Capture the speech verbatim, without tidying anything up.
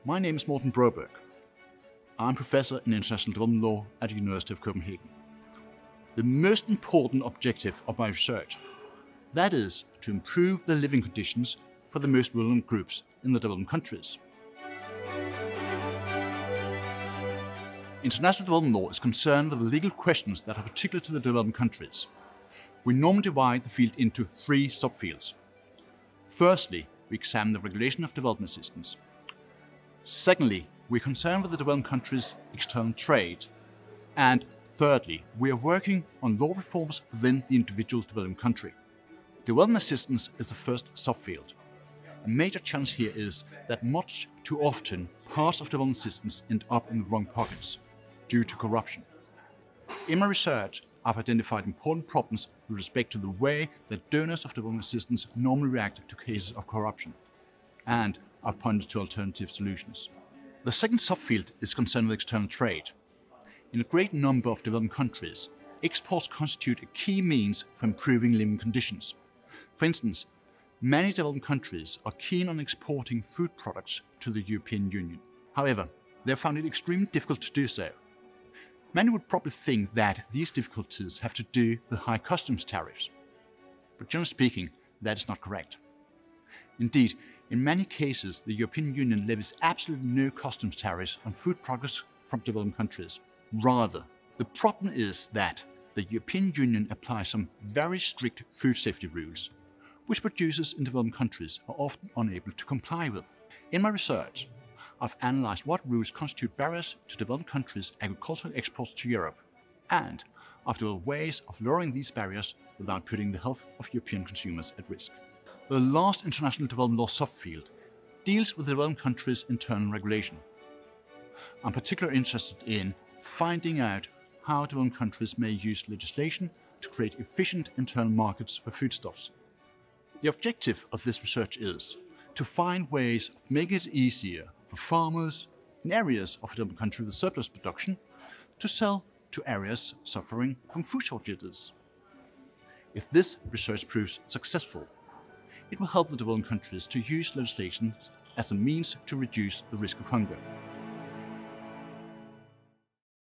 My name is Morten Broberg. I'm Professor in International Development Law at the University of Copenhagen. The most important objective of my research, that is to improve the living conditions for the most vulnerable groups in the developing countries. International development law is concerned with the legal questions that are particular to the developing countries. We normally divide the field into three subfields. Firstly, we examine the regulation of development assistance. Secondly, we are concerned with the developing countries' external trade. And thirdly, we are working on law reforms within the individual developing country. Development assistance is the first subfield. A major challenge here is that much too often parts of development assistance end up in the wrong pockets due to corruption. In my research, I've identified important problems with respect to the way that donors of development assistance normally react to cases of corruption, and I've pointed to alternative solutions. The second subfield is concerned with external trade. In a great number of developing countries, exports constitute a key means for improving living conditions. For instance, many developing countries are keen on exporting food products to the European Union. However, they have found it extremely difficult to do so. Many would probably think that these difficulties have to do with high customs tariffs. But generally speaking, that is not correct. Indeed, in many cases, the European Union levies absolutely no customs tariffs on food products from developing countries. Rather, the problem is that the European Union applies some very strict food safety rules, which producers in developing countries are often unable to comply with. In my research, I've analyzed what rules constitute barriers to developing countries' agricultural exports to Europe, and I've developed ways of lowering these barriers without putting the health of European consumers at risk. The last international development law subfield deals with the developing countries' internal regulation. I'm particularly interested in finding out how developing countries may use legislation to create efficient internal markets for foodstuffs. The objective of this research is to find ways of making it easier for farmers in areas of a developing country with surplus production to sell to areas suffering from food shortages. If this research proves successful, it will help the developing countries to use legislation as a means to reduce the risk of hunger.